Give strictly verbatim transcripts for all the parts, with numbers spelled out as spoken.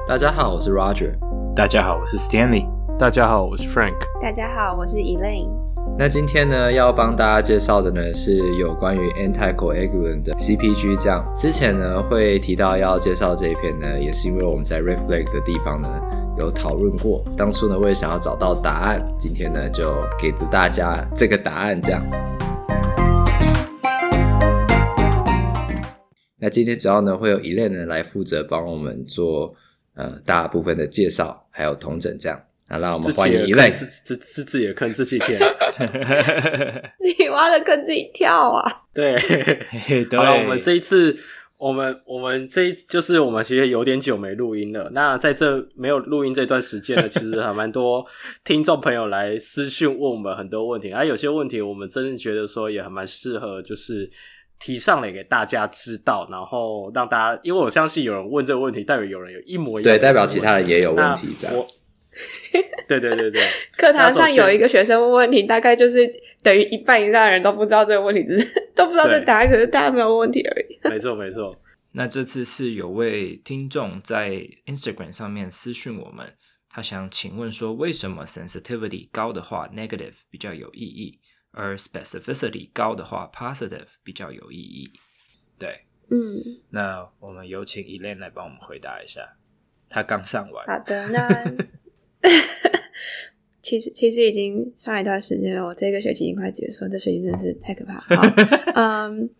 大家好，我是 Roger。 大家好，我是 Stanley。 大家好，我是 Frank。 大家好，我是 Elaine。 那今天呢，要帮大家介绍的呢是有关于 anticoagulant 的 C P G 这样。之前呢会提到要介绍这一篇呢，也是因为我们在 Reflect 的地方呢有讨论过。当初呢我也想要找到答案，今天呢就给大家这个答案这样。那今天主要呢会有 Elaine 呢来负责帮我们做呃大部分的介绍，还有统整这样。那让我们欢迎 Elaine。 自自自己的坑自己填， 自己挖的坑自己跳啊！ 对， 对。 好了，我们这一次，我们我们这一就是我们其实有点久没录音了。那在这没有录音这段时间呢，其实还蛮多听众朋友来私讯问我们很多问题，而、啊、有些问题我们真的觉得说也还蛮适合，就是提上来给大家知道，然后让大家，因为我相信有人问这个问题，代表有人有一模一样的问题， 对，代表其他人也有问题这样。 对对对对， 课堂上有一个学生问问题，大概就是等于一半以上的人都不知道这个问题，只是都不知道这答案，可是大家没有问题而已。 没错没错。 那这次是有位听众在 Instagram 上面私讯我们，他想请问说，为什么 sensitivity 高的话 negative 比较有意义，而 specificity 高的话 positive 比较有意义？对， 嗯， 那我们有请 Elaine 来帮我们回答一下，他刚上完。 好的，那其实其实已经上一段时间了，我这个学期已经快结束，这学期真的是太可怕了。好，嗯，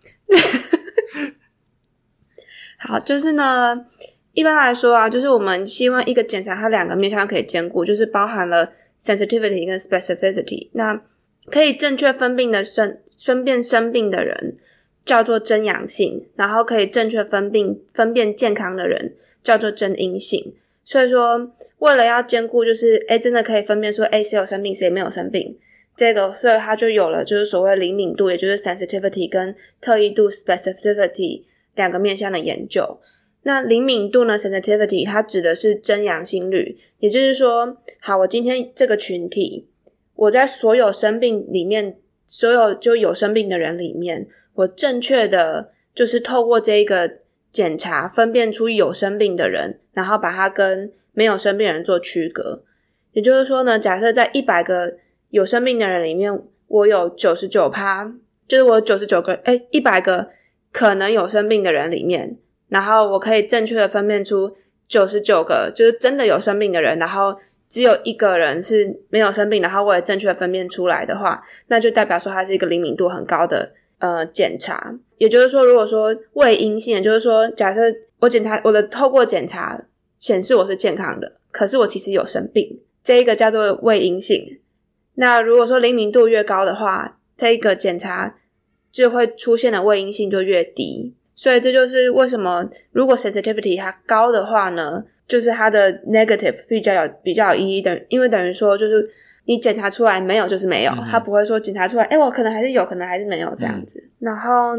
好，就是呢，一般来说啊，就是我们希望一个检查它两个面向可以兼顾，就是包含了 sensitivity 跟 specificity。那可以正确分辨的生分辨生病的人叫做真阳性，然后可以正确分辨分辨健康的人叫做真阴性。所以说为了要兼顾就是诶真的可以分辨说诶谁有生病谁没有生病，这个所以它就有了就是所谓灵敏度，也就是 sensitivity 跟特异度 specificity 两个面向的研究。那灵敏度呢 sensitivity 它指的是真阳性率，也就是说好，我今天这个群体我在所有生病里面，所有就有生病的人里面，我正确的就是透过这个检查分辨出有生病的人，然后把它跟没有生病的人做区隔。也就是说呢，假设在一百个有生病的人里面，我有 百分之九十九， 就是我有九十九个诶一百个可能有生病的人里面，然后我可以正确的分辨出九十九个就是真的有生病的人，然后只有一个人是没有生病，然后我也正确的分辨出来的话，那就代表说它是一个灵敏度很高的呃检查。也就是说，如果说未阴性，就是说假设我检查我的透过检查显示我是健康的，可是我其实有生病，这一个叫做未阴性。那如果说灵敏度越高的话，这一个检查就会出现的未阴性就越低。所以这就是为什么如果 sensitivity 它高的话呢，就是它的 negative 比较有比较有意义的，因为等于说就是你检查出来没有就是没有，嗯、它不会说检查出来诶我可能还是有可能还是没有这样子。嗯、然后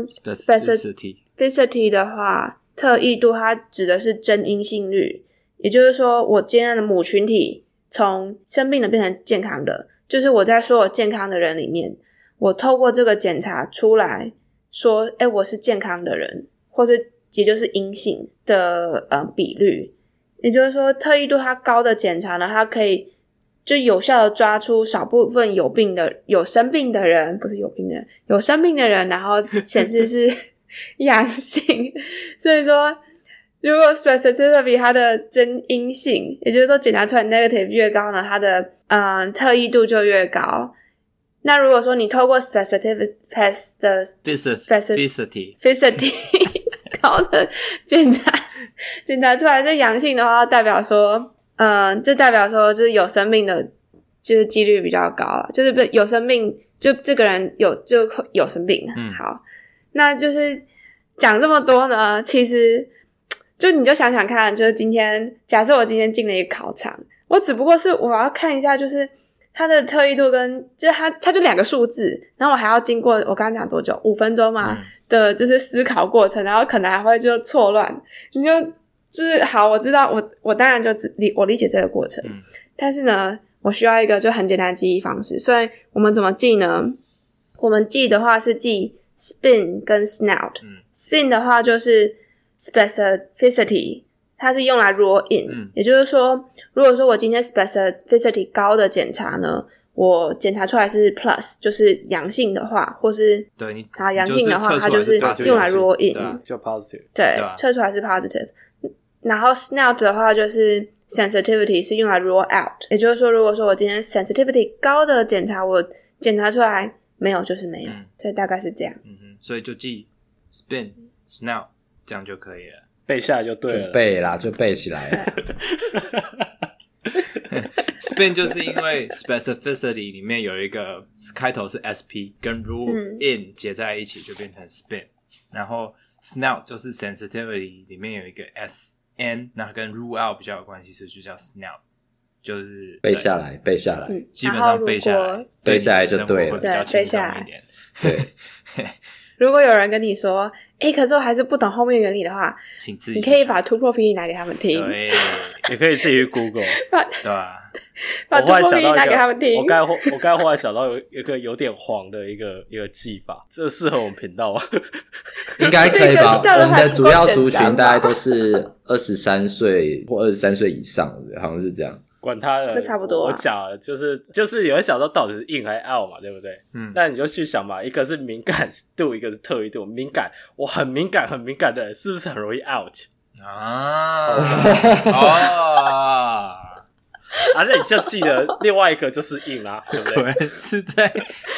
specificity 的话，特异度它指的是真阴性率，也就是说我今天的母群体从生病的变成健康的，就是我在所有健康的人里面，我透过这个检查出来说诶我是健康的人，或者也就是阴性的呃比率。也就是说特异度它高的检查呢，它可以就有效的抓出少部分有病的有生病的人，不是有病的人有生病的人，然后显示是阳性。所以说如果 specificity 它的真阴性，也就是说检查出来 negative 越高呢，它的嗯特异度就越高。那如果说你透过 specificity 的 specificity specificity 高的检查检查出来是阳性的话，代表说嗯就代表说就是有生病的就是几率比较高了，就是有生病就这个人有就有生病。嗯，好，那就是讲这么多呢，其实就你就想想看，就是今天假设我今天进了一个考场，我只不过是我要看一下就是它的特异度跟就是它它就两个数字，然后我还要经过我刚刚讲多久五分钟嘛、嗯、的就是思考过程，然后可能还会就错乱，你就就是好我知道我我当然就理我理解这个过程、嗯、但是呢我需要一个就很简单的记忆方式，所以我们怎么记呢？我们记的话是记 spin 跟 snout、嗯、spin 的话就是 specificity 它是用来 rule in、嗯、也就是说如果说我今天 specificity 高的检查呢，我检查出来是 plus 就是阳性的话，或是对你它阳性的话它就是用来 rule in 对、啊、就 positive 对，测出来是 positive。然后 S N O T 的话就是 sensitivity 是用来 rule out， 也就是说如果说我今天 sensitivity 高的检查我检查出来没有就是没有、嗯、所以大概是这样、 嗯、哼，所以就记 spin S N O T 这样就可以了， 背下来就对了， 就背啦，就背起来了 spin 就是因为 specificity 里面有一个开头是 S P 跟 rule in 结在一起就变成 spin、嗯、然后 S N O T 就是 sensitivity 里面有一个 S N， 那跟 rule out 比较有关系，所以就叫 S N O T， 就是背下来背下来、 嗯、 基本上背下来背下来就对了， 会比较轻松一点。 对如果有人跟你说诶可是我还是不懂后面原理的话， 请自己你可以把突破比例拿给他们听， 对， 也可以自己去 Google 对吧？ 把突破比例拿给他们听。 我刚才我刚才忽然想到有一个有点黄的一个一个技法，这适合我们频道吗？ 应该可以吧？我们的主要族群大概都是二十三岁或二十三岁以上的，好像是这样。 管他的， 那差不多、啊。 我讲了，就是就是有人想说到底是 in 还是 out 嘛，对不对？嗯，那你就去想嘛，一个是敏感度，一个是特异度。敏感，我很敏感，很敏感的人，是不是很容易 out 啊？哦， 啊，那你就记得另外一个就是 in 啦，对不对？ 果然是在。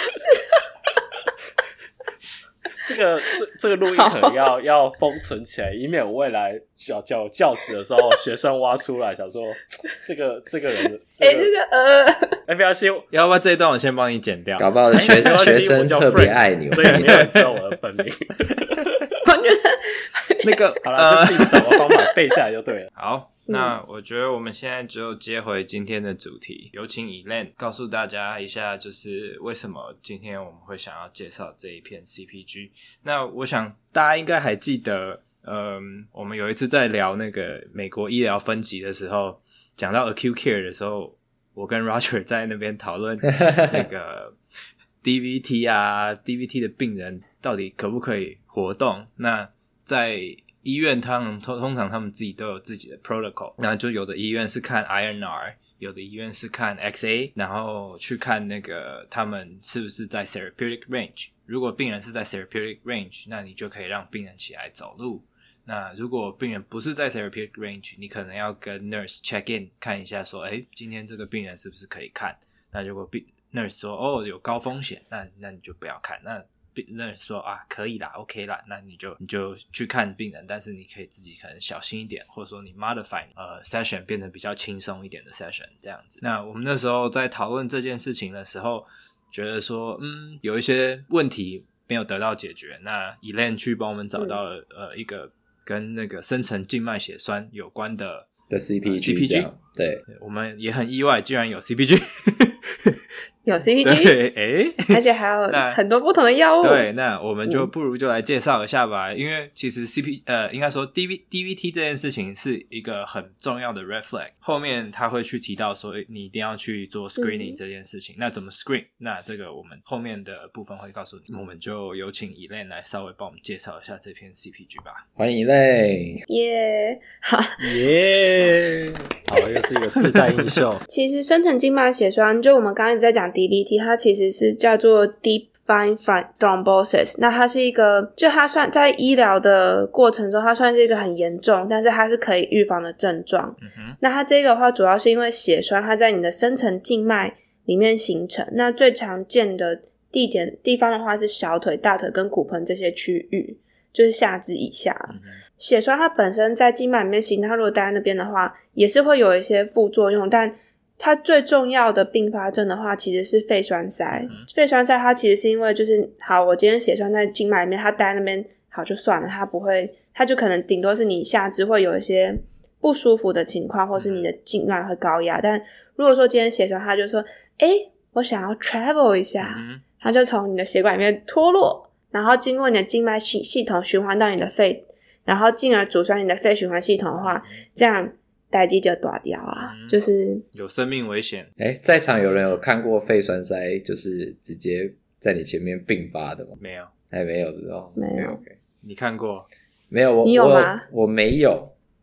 这个这这个录音可能要要封存起来，以免我未来教教教职的时候，学生挖出来想说这个这个人，哎、 这个，欸这个呃， 哎，不要信， 要不要这一段我先帮你剪掉？ 搞不好学学生特别爱你， 所以你没有知道我的本名。 我觉得那个好了，就自己找个方法背下来就对了。 好。那我觉得我们现在就接回今天的主题，有请 Elaine 告诉大家一下，就是为什么今天我们会想要介绍这一篇 C P G。那我想大家应该还记得，嗯，我们有一次在聊那个美国医疗分级的时候，讲到 acute care 的时候，我跟 Roger 在那边讨论那个 D V T 啊，D V T 的病人到底可不可以活动？那在医院他们通常他们自己都有自己的 protocol， 那就有的医院是看 I N R， 有的医院是看 X A， 然后去看那个他们是不是在 therapeutic range。如果病人是在 therapeutic range， 那你就可以让病人起来走路。那如果病人不是在 therapeutic range， 你可能要跟 nurse check in 看一下说，诶，今天这个病人是不是可以看？那如果 nurse 说哦有高风险，那那你就不要看。那那说啊可以啦 OK 啦，那你就你就去看病人，但是你可以自己可能小心一点，或者说你 modify 呃 session 变成比较轻松一点的 session 这样子。那我们那时候在讨论这件事情的时候，觉得说嗯有一些问题没有得到解决，那 Elaine 去帮我们找到了、嗯、呃一个跟那个深层静脉血栓有关的的 C P G， C P G 对， 我们也很意外竟然有 C P G 有 C P G， 对，诶而且还有很多不同的药物。 对，那我们就不如就来介绍一下吧。嗯、因为其实 C P 呃，应该说 D V D V T 这件事情是一个很重要的 red flag。后面他会去提到说，你一定要去做 screening 这件事情。嗯、那怎么 screen？ 那这个我们后面的部分会告诉你。我们就有请 Elaine 来稍微帮我们介绍一下这篇 C P G 吧。 欢迎 Elaine， 耶，好耶，好，又是一个自带音效。 其实深层静脉血栓，就我们刚刚一直在讲 D V T， 它其实是叫做 Deep Vein Thrombosis。那它是一个，就它算在医疗的过程中，它算是一个很严重，但是它是可以预防的症状。嗯哼，那它这个的话，主要是因为血栓它在你的深层静脉里面形成。那最常见的地点地方的话是小腿、大腿跟骨盆这些区域，就是下肢以下。嗯、血栓它本身在静脉里面形成，它如果待在那边的话，也是会有一些副作用，但它最重要的并发症的话其实是肺栓塞。嗯、肺栓塞它其实是因为就是好我今天血栓在静脉里面，它待在那边好就算了，它不会，它就可能顶多是你下肢会有一些不舒服的情况，或是你的静脉会高压。但如果说今天血栓它就说诶我想要 travel 一下，嗯、它就从你的血管里面脱落，然后经过你的静脉系系统循环到你的肺，然后进而阻塞你的肺循环系统的话，这样代誌就大掉啊、嗯、就是有生命危险。 诶在场有人有看过肺栓塞就是直接在你前面并发的吗？ 没有， 还没有知道？ 没有。 okay, okay. 你看过？ 没有，我你有吗？ 我我没有，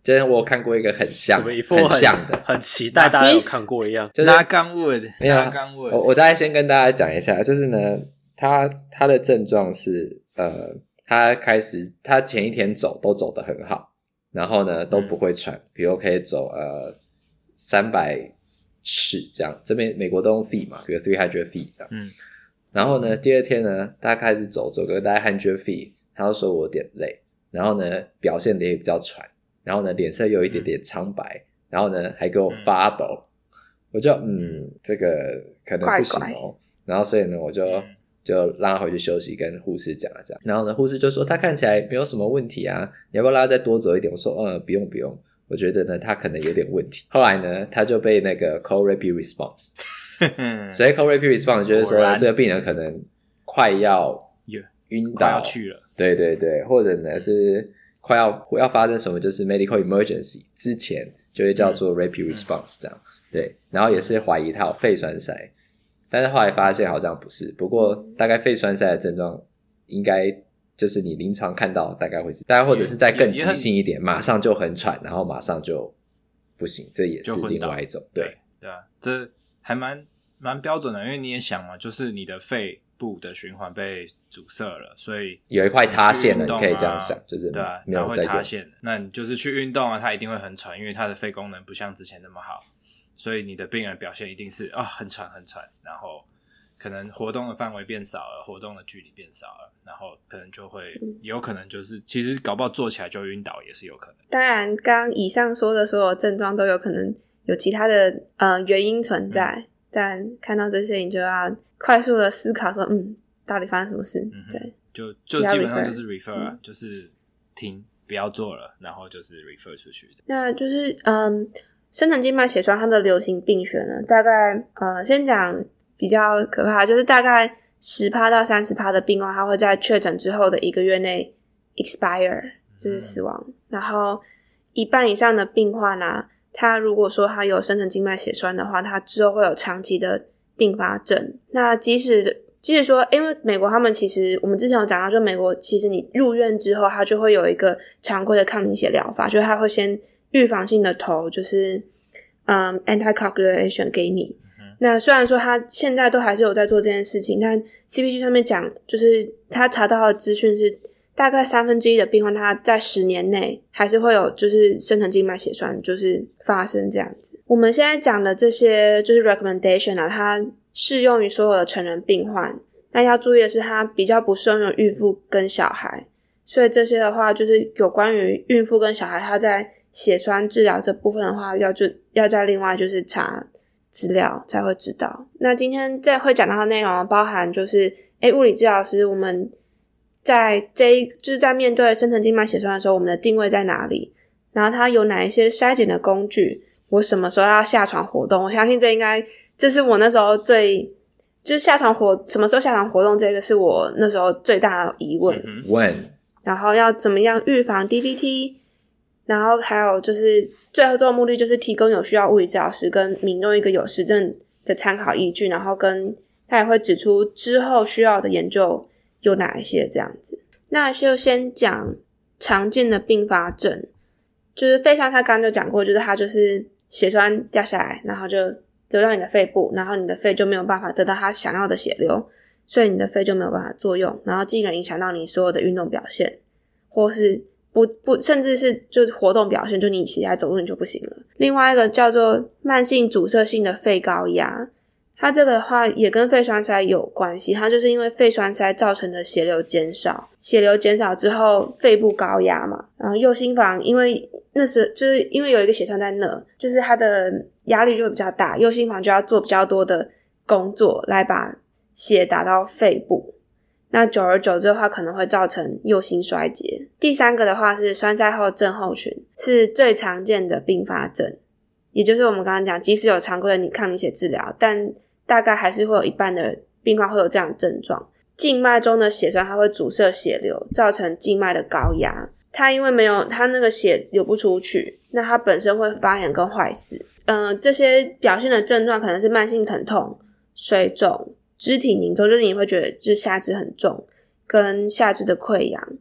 就是我有看过一个很像怎么一副很像的， 很期待大家有看过一样。 就是拉钢 wood， 没有拉钢 wood。 我我大概先跟大家讲一下，就是呢，他他的症状是呃，他开始他前一天走都走得很好，然后呢都不会喘，比如可以走呃三百尺这样，这边美国都用 feet 嘛，比如三百 feet 这样。嗯。然后呢，第二天呢，他开始走走个大概一百 feet， 他就说我有点累，然后呢表现得也比较喘，然后呢脸色有一点点苍白，然后呢还给我发抖，我就嗯这个可能不行哦，怪怪然后所以呢我就就让他回去休息，跟护士讲了这样，然后呢护士就说他看起来没有什么问题啊，你要不要让他再多走一点？我说嗯不用不用，我觉得呢他可能有点问题。后来呢他就被那个 call rapid response 所以 call rapid response 就是说这个病人可能快要晕倒， 快要去了， 对对对，或者呢是快要要发生什么就是 medical emergency 之前就会叫做 rapid response 这样、嗯、对，然后也是怀疑他有肺栓塞，但是后来发现好像不是，不过大概肺栓塞的症状应该就是你临床看到大概会是，大概或者是再更急性一点，马上就很喘，然后马上就不行，这也是另外一种，对对啊，这还蛮蛮标准的，因为你也想嘛，就是你的肺部的循环被阻塞了，所以有一块塌陷了， 你、啊、 你可以这样想，就是对啊， 没有在用， 它会塌陷，那你就是去运动啊，它一定会很喘，因为它的肺功能不像之前那么好，所以你的病人表现一定是啊、哦、很喘很喘，然后可能活动的范围变少了，活动的距离变少了，然后可能就会、嗯、有可能就是其实搞不好坐起来就晕倒也是有可能。 当然刚刚以上说的所有症状都有可能有其他的呃原因存在、嗯、但看到这些你就要快速的思考说嗯到底发生什么事、嗯、对， 就就基本上就是 refer 啊、嗯、就是停不要做了，然后就是 refer 出去。 那就是嗯深层静脉血栓它的流行病学呢，大概呃先讲比较可怕，就是大概 百分之十到百分之三十 的病患他会在确诊之后的一个月内 expire 就是死亡、嗯、然后一半以上的病患啊，他如果说他有深层静脉血栓的话，他之后会有长期的并发症。那即使即使说因为美国他们其实我们之前有讲到，就美国其实你入院之后他就会有一个常规的抗凝血疗法，就是他会先预防性的投就是嗯 anticoagulation 给你、嗯、那虽然说他现在都还是有在做这件事情，但 C P G 上面讲就是他查到的资讯是大概三分之一的病患他在十年内还是会有就是深层静脉血栓就是发生这样子。我们现在讲的这些就是 recommendation 啊，它适用于所有的成人病患，但要注意的是它比较不适用于孕妇跟小孩，所以这些的话就是有关于孕妇跟小孩他在血栓治疗这部分的话要就要再另外就是查资料才会知道。那今天这会讲到的内容包含就是诶物理治疗师我们在这一就是在面对深层静脉血栓的时候我们的定位在哪里，然后它有哪一些筛检的工具，我什么时候要下床活动，我相信这应该这是我那时候最就是下床活什么时候下床活动这个是我那时候最大的疑问、 嗯、When 然后要怎么样预防 D V T， 然后还有就是最后这个目的就是提供有需要物理治疗师跟民众一个有实证的参考依据，然后跟他也会指出之后需要的研究有哪一些这样子。那就先讲常见的并发症，就是肺栓他刚刚就讲过，就是它就是血栓掉下来然后就流到你的肺部，然后你的肺就没有办法得到它想要的血流，所以你的肺就没有办法作用，然后进而影响到你所有的运动表现，或是不不甚至是就是活动表现，就你起来走路你就不行了。另外一个叫做慢性阻塞性的肺高压，它这个的话也跟肺栓塞有关系，它就是因为肺栓塞造成的血流减少，血流减少之后肺部高压嘛，然后右心房因为那时就是因为有一个血栓在那，就是它的压力就会比较大，右心房就要做比较多的工作来把血打到肺部，那久而久之的话可能会造成右心衰竭。第三个的话是栓塞后症候群，是最常见的并发症，也就是我们刚刚讲即使有常规的抗凝血治疗，但大概还是会有一半的病患会有这样的症状。静脉中的血栓它会阻塞血流，造成静脉的高压，它因为没有它那个血流不出去，那它本身会发炎跟坏死。呃，这些表现的症状可能是慢性疼痛、水肿、肢体凝重，就是你会觉得就是下肢很重，跟下肢的溃疡，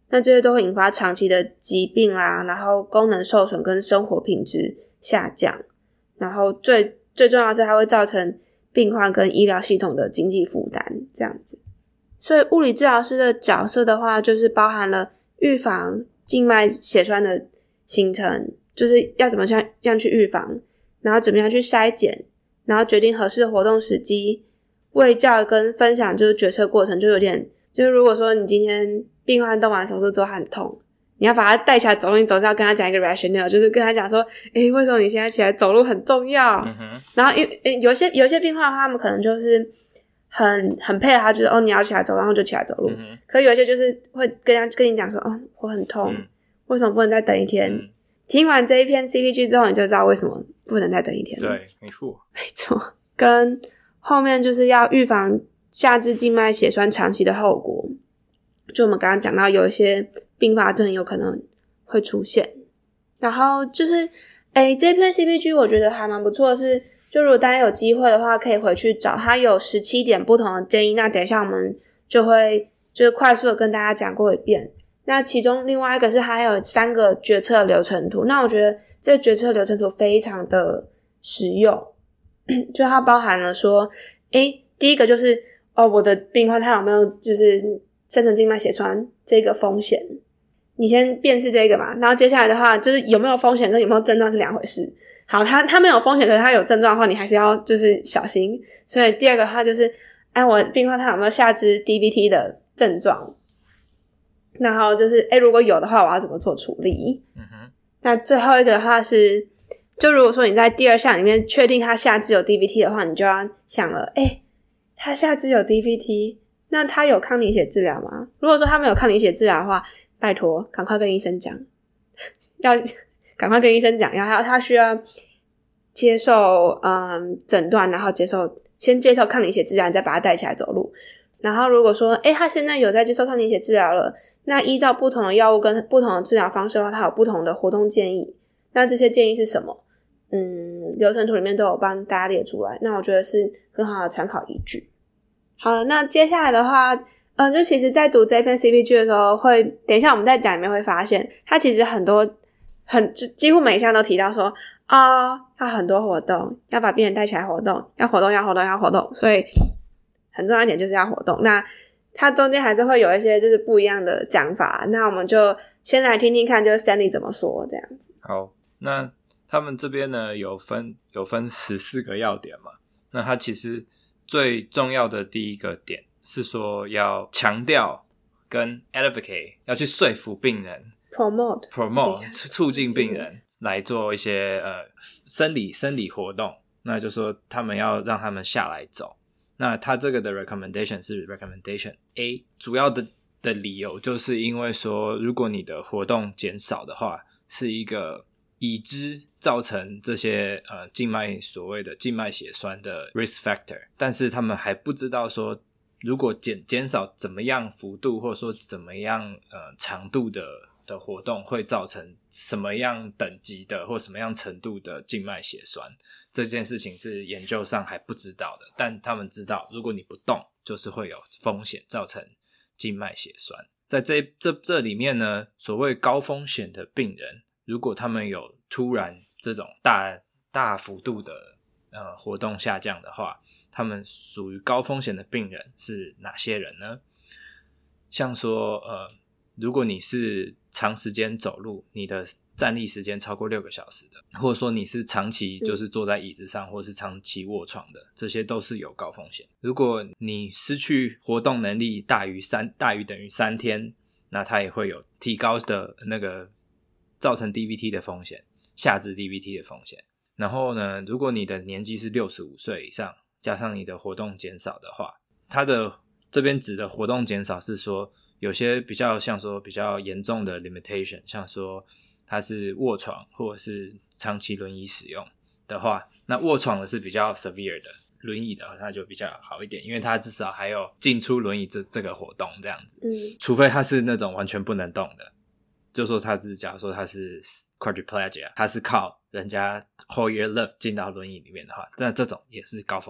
那这些都会引发长期的疾病啦，然后功能受损跟生活品质下降，然后最最重要的是它会造成病患跟医疗系统的经济负担这样子。所以物理治疗师的角色的话，就是包含了预防静脉血栓的形成，就是要怎么样去预防，然后怎么样去筛检，然后决定合适的活动时机，卫教跟分享就是决策过程，就有点就是如果说你今天病患动完手术之后很痛，你要把他带起来走路，你总是要跟他讲一个 rationale， 就是跟他讲说诶为什么你现在起来走路很重要、嗯、哼然后有一些有一些病患的话，他们可能就是很很配合他，就是哦你要起来走然后就起来走路、嗯、可是有一些就是会跟他跟你讲说哦我很痛、嗯、为什么不能再等一天、嗯、听完这一篇 C P G 之后，你就知道为什么不能再等一天了。 对，没错没错。跟后面就是要预防下肢静脉血栓长期的后果，就我们刚刚讲到有一些并发症有可能会出现。然后就是诶这篇 C P G 我觉得还蛮不错的是，就如果大家有机会的话可以回去找，它有十七点不同的建议，那等一下我们就会就是快速的跟大家讲过一遍。那其中另外一个是还有三个决策流程图，那我觉得这个决策流程图非常的实用，就它包含了说诶第一个就是哦我的病患他有没有就是深层静脉血栓这个风险，你先辨识这个嘛，然后接下来的话就是有没有风险跟有没有症状是两回事。好，他他没有风险，可是他有症状的话，你还是要就是小心。所以第二个的话就是哎我病患他有没有下肢 D V T 的症状，然后就是哎如果有的话我要怎么做处理。嗯哼。那最后一个的话是就如果说你在第二项里面确定他下肢有 D V T 的话，你就要想了诶他下肢有 D V T， 那他有抗凝血治疗吗？如果说他没有抗凝血治疗的话，拜托赶快跟医生讲，要赶快跟医生讲，然后他需要接受嗯诊断，然后接受先接受抗凝血治疗，你再把他带起来走路。然后如果说诶他现在有在接受抗凝血治疗了，那依照不同的药物跟不同的治疗方式的话，他有不同的活动建议。那这些建议是什么？嗯，流程图里面都有帮大家列出来，那我觉得是很好的参考依据。好，那接下来的话嗯，就其实在读这篇 C P G 的时候会等一下我们在讲里面会发现它其实很多很几乎每一项都提到说啊、哦，要很多活动，要把病人带起来活动，要活动要活动要活动，所以很重要一点就是要活动。那它中间还是会有一些就是不一样的讲法，那我们就先来听听看就是 Stanley 怎么说这样子。 好，那他们这边呢有分有分十四个要点嘛，那它其实最重要的第一个点是说要强调跟 advocate 要去说服病人 promote promote 促进病人来做一些呃生理生理活动，那就说他们要让他们下来走。那他这个的 recommendation 是 recommendation A， 主要的的理由就是因为说如果你的活动减少的话，是一个已知造成这些呃静脉所谓的静脉血栓的 risk factor， 但是他们还不知道说如果减减少怎么样幅度或者说怎么样呃长度的的活动会造成什么样等级的或什么样程度的静脉血栓，这件事情是研究上还不知道的，但他们知道如果你不动就是会有风险造成静脉血栓。在这这这里面呢，所谓高风险的病人，如果他们有突然这种大大幅度的呃活动下降的话，他们属于高风险的病人是哪些人呢？像说呃如果你是长时间走路，你的站立时间超过六个小时的，或者说你是长期就是坐在椅子上、嗯、或是长期卧床的，这些都是有高风险。如果你失去活动能力大于三大于等于三天，那它也会有提高的那个造成 D V T 的风险，下肢 D V T 的风险。然后呢，如果你的年纪是六十五岁以上，加上你的活动减少的话，它的这边指的活动减少是说有些比较像说比较严重的 limitation， 像说它是卧床或者是长期轮椅使用的话，那卧床的是比较 severe 的，轮椅的那就比较好一点，因为它至少还有进出轮椅这这个活动这样子。嗯，除非它是那种完全不能动的，就说他是假如说他是 quadriplegia， 他是靠人家 whole year lift 进到轮椅里面的话，那这种也是高风险。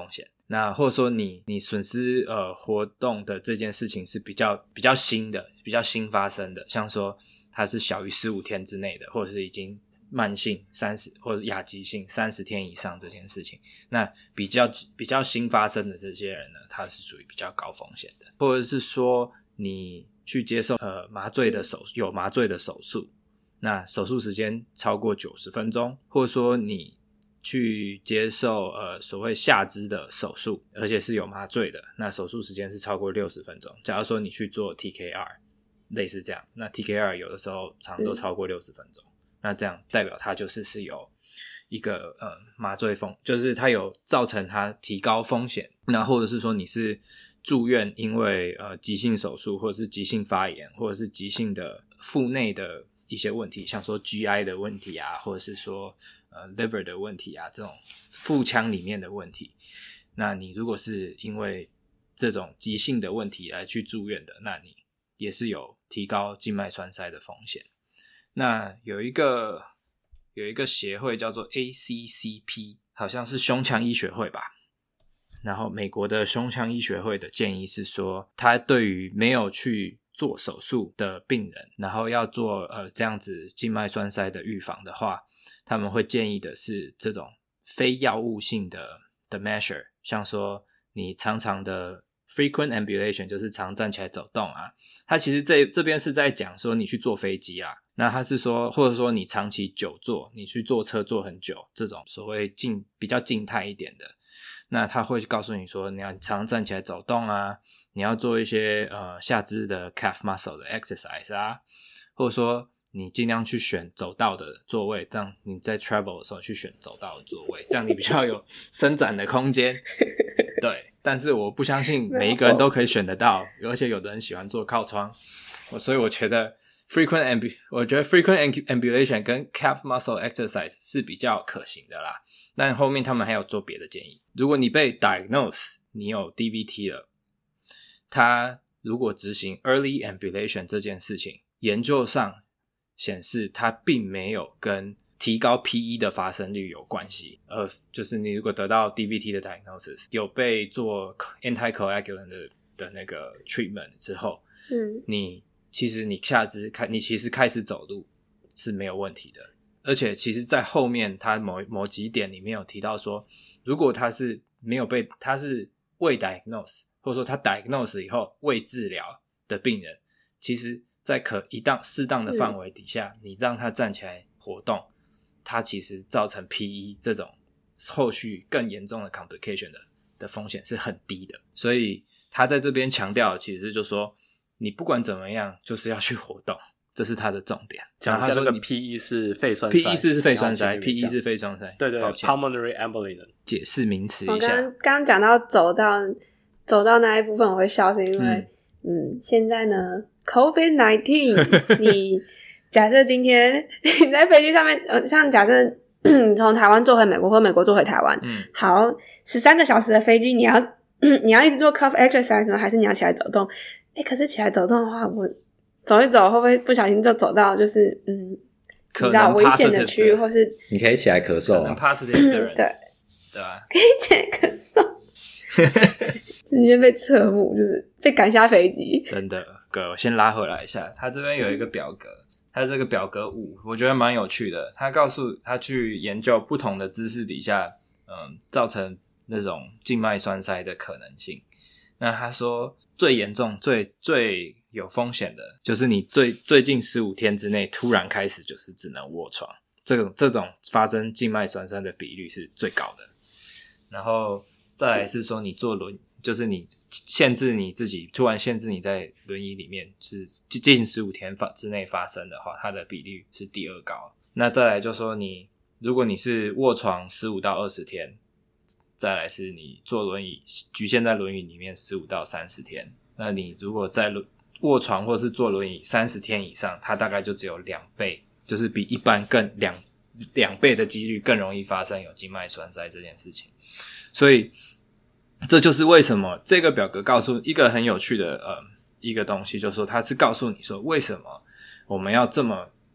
那或者说你你损失呃活动的这件事情是比较比较新的，比较新发生的，像说它是小于十五天之内的，或者是已经慢性三十或者亚急性三十天以上这件事情，那比较比较新发生的这些人呢，他是属于比较高风险的。或者是说你去接受呃麻醉的手有麻醉的手术，那手术时间超过九十分钟，或者说你去接受呃所谓下肢的手术，而且是有麻醉的，那手术时间是超过六十分钟。假如说你去做 T K R 类似这样，那 T K R 有的时候常都超过六十分钟、嗯、那这样代表它就是是有一个呃麻醉风，就是它有造成它提高风险。那或者是说你是住院因为呃急性手术，或者是急性发炎，或者是急性的腹内的一些问题，像说 G I 的问题啊，或者是说呃 liver 的问题啊，这种腹腔里面的问题，那你如果是因为这种急性的问题来去住院的，那你也是有提高静脉栓塞的风险。那有一个有一个协会叫做 A C C P， 好像是胸腔医学会吧，然后美国的胸腔医学会的建议是说，他对于没有去做手术的病人，然后要做呃这样子静脉栓塞的预防的话，他们会建议的是这种非药物性的的 measure， 像说你常常的 frequent ambulation， 就是常站起来走动啊，他其实这这边是在讲说你去坐飞机啊，那他是说或者说你长期久坐，你去坐车坐很久，这种所谓静比较静态一点的，那他会告诉你说你要常站起来走动啊，你要做一些呃下肢的 calf muscle 的 exercise 啊，或者说你尽量去选走道的座位，这样你在 travel 的时候去选走道的座位，这样你比较有伸展的空间。对，但是我不相信每一个人都可以选得到，而且有的人喜欢坐靠窗，所以我觉得 frequent ambu 我觉得 frequent ambulation 跟 calf muscle exercise 是比较可行的啦。但后面他们还有做别的建议，如果你被 diagnose 你有 D V T 了，他如果执行 early ambulation 这件事情，研究上显示它并没有跟提高 P E 的发生率有关系，呃，就是你如果得到 D V T 的 diagnosis， 有被做 anticoagulant 的, 的那个 treatment 之后，嗯，你其实你下肢开，你其实开始走路是没有问题的，而且其实在后面他某某几点里面有提到说，如果他是没有被，他是未 diagnose， 或者说他 diagnose 以后未治疗的病人，其实在可一当适当的范围底下、嗯、你让他站起来活动，它其实造成 P E 这种后续更严重的 complication 的, 的风险是很低的。所以他在这边强调其实就是说你不管怎么样就是要去活动，这是他的重点。 讲一下那个 P E 是肺栓塞 P E 是肺栓塞 P E 是肺栓塞， 对对 Pulmonary embolism 解释名词一下。 我刚刚讲到走到走到那一部分我会笑，是因为 嗯, 嗯现在呢 COVID 十九 你假设今天你在飞机上面呃，像假设你从台湾坐回美国或美国坐回台湾，嗯，好十三个小时的飞机，你要你要一直做 calf exercise 吗？还是你要起来走动？诶可是起来走动的话，我走一走会不会不小心就走到就是嗯你知道危险的区域，或是你可以起来咳嗽啊， positive 的人对对啊， 可以起来咳嗽直接被侧目，就是被赶下飞机。 真的，哥，我先拉回来一下，他这边有一个表格，他这个表格五，我觉得蛮有趣的。他告诉他去研究不同的姿势底下，嗯，造成那种静脉栓塞的可能性。那他说最严重、最最有风险的，就是你最最近十五天之内突然开始就是只能卧床，这种这种发生静脉栓塞的比率是最高的。然后再来是说你坐轮，就是你限制你自己，突然限制你在轮椅里面是近十五天之内发生的话，它的比率是第二高。那再来就说你，如果你是卧床十五到二十天，再来是你坐轮椅局限在轮椅里面十五到三十天，那你如果在卧床或是坐轮椅三十天以上，它大概就只有两倍，就是比一般更两两倍的几率更容易发生有静脉栓塞这件事情。所以这就是为什么这个表格告诉一个很有趣的呃一个东西，就是说它是告诉你说为什么我们要这么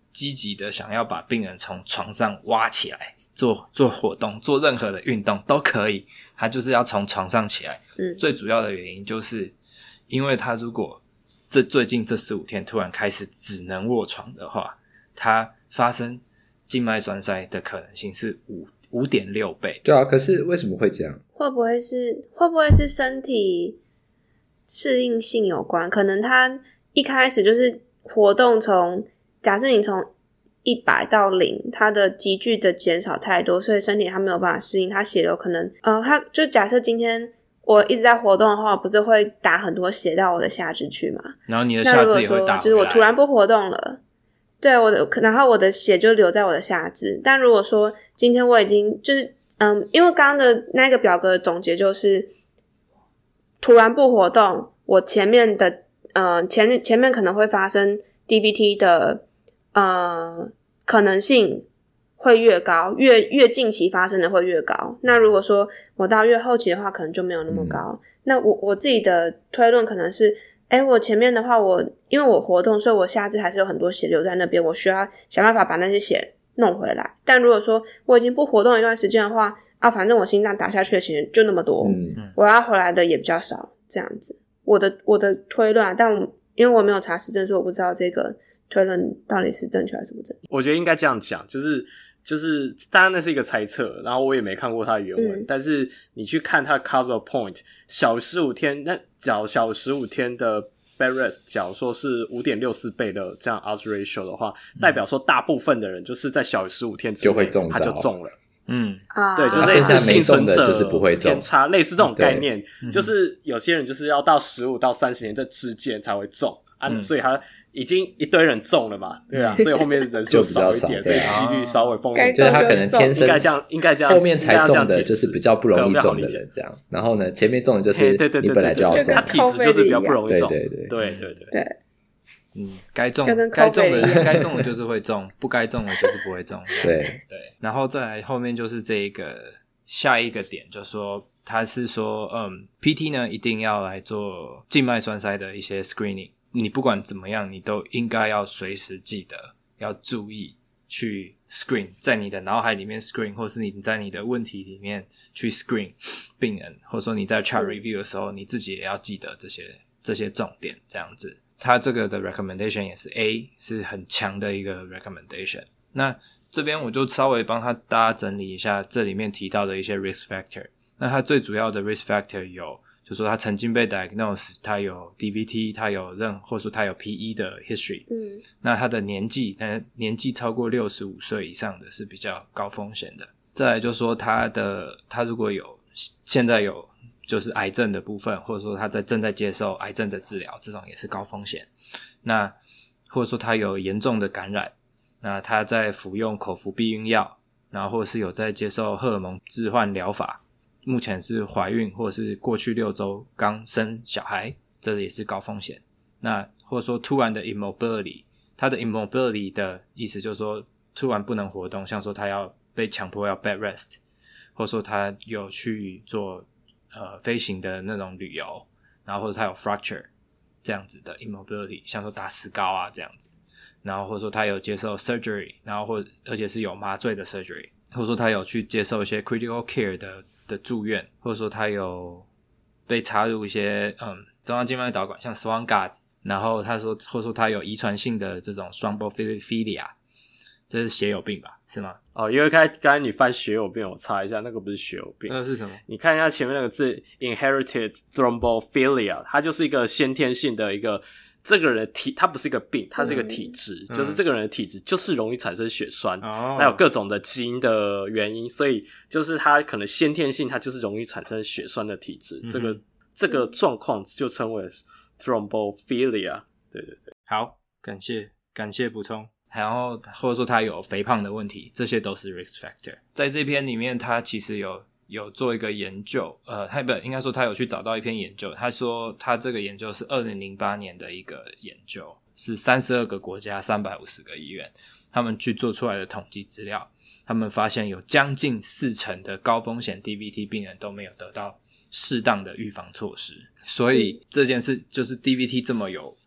积极的想要把病人从床上挖起来做做活动，做任何的运动都可以，他就是要从床上起来。 嗯， 最主要的原因就是因为他如果这最近这十五天突然开始只能卧床的话，他发生静脉栓塞的可能性是 五 五点六 倍。 对啊，可是为什么会这样？ 会不会是会不会是身体适应性有关？可能他一开始就是活动从假设你从一百到零，它的急剧的减少太多，所以身体它没有办法适应，它血流可能呃，它就假设今天我一直在活动的话，不是会打很多血到我的下肢去吗？ 然后你的下肢也会打回来。 就是我突然不活动了，对我的，然后我的血就留在我的下肢。但如果说今天我已经就是嗯，因为刚刚的那个表格的总结就是突然不活动，我前面的呃前前面可能会发生 D V T 的呃可能性会越高，越越近期发生的会越高。那如果说我到越后期的话，可能就没有那么高。嗯、那我我自己的推论可能是，诶我前面的话我因为我活动，所以我下肢还是有很多血流在那边，我需要想办法把那些血弄回来。但如果说我已经不活动一段时间的话，啊，反正我心脏打下去的血就那么多，嗯、我要回来的也比较少，这样子。我的我的推论啊，但我因为我没有查实证，所以我不知道这个推论到底是正确还是不正确。 我觉得应该这样讲，就是就是当然那是一个猜测，然后我也没看过它的原文，嗯、但是你去看它 cover point 小十五天，那小小十五天的 bed rest 假如说是 五点六四 倍的这样 odds ratio 的话，嗯、代表说大部分的人就是在小于十五天之内就会中，他就中了。 嗯啊， 对，就类似幸存者就是不会中偏差，类似这种概念，就是有些人就是要到十五到三十年这之间才会中啊，嗯、所以他已经一堆人中了嘛，对啊，所以后面人数少一点，所以几率稍微风险， 就是他可能天生应该这样，应该这样， 后面才中的就是比较不容易中的人这样，然后呢，前面中的就是你本来就要中， 他体质就是比较不容易中， 对对对对对对对。 嗯，该中该中的该中的就是会中，不该中的就是不会中。 对对，然后再来后面就是这一个下一个点，就说他是说，嗯 ，P T 呢一定要来做静脉栓塞的一些 screening。你不管怎么样，你都应该要随时记得要注意去 screen， 在你的脑海里面 screen， 或是你在你的问题里面去 screen 病人，或者说你在 chart review 的时候，你自己也要记得这些这些重点，这样子。他这个的 recommendation 也是 A， 是很强的一个 recommendation。那这边我就稍微帮他大家整理一下这里面提到的一些 risk factor。那他最主要的 risk factor 有，就是说他曾经被 diagnose， 他有 D V T， 他有任或者说他有 P E 的 history。嗯，那他的年纪，呃，年纪超过六十五岁以上的是比较高风险的。再来就是说他的他如果有现在有就是癌症的部分，或者说他在正在接受癌症的治疗，这种也是高风险。那或者说他有严重的感染，那他在服用口服避孕药，然后或者是有在接受荷尔蒙置换疗法，目前是怀孕或者是过去六周刚生小孩，这也是高风险。那或者说突然的 immobility， 他的 immobility 的意思就是说突然不能活动，像说他要被强迫要 bed rest， 或者说他有去做呃，飞行的那种旅游，然后或者他有 fracture 这样子的 immobility， 像说打石膏啊这样子，然后或者说他有接受 surgery， 然后或而且是有麻醉的 surgery， 或者说他有去接受一些 critical care 的的住院，或者说他有被插入一些嗯中央静脉导管，像 Swan Guards， 然后他说或者说他有遗传性的这种 thrombophilia， 这是血友病吧？是吗？ 哦，因为刚才刚才你翻血友病，我查一下，那个不是血友病， 那是什么？ 你看一下前面那个字 inherited thrombophilia， 它就是一个先天性的一个这个人的体，它不是一个病，它是一个体质，嗯、就是这个人的体质就是容易产生血栓，哦，那有各种的基因的原因，所以就是他可能先天性，他就是容易产生血栓的体质，嗯、这个这个状况就称为 thrombophilia。对对对， 好，感谢感谢补充。然后或者说他有肥胖的问题，这些都是 risk factor。在这篇里面他其实有有做一个研究，呃他不应该说他有去找到一篇研究，他说他这个研究是二零零八年的一个研究，是三十二个国家三百五十个医院他们去做出来的统计资料，他们发现有将近四成的高风险 D V T 病人都没有得到适当的预防措施。所以这件事就是 D V T 这么有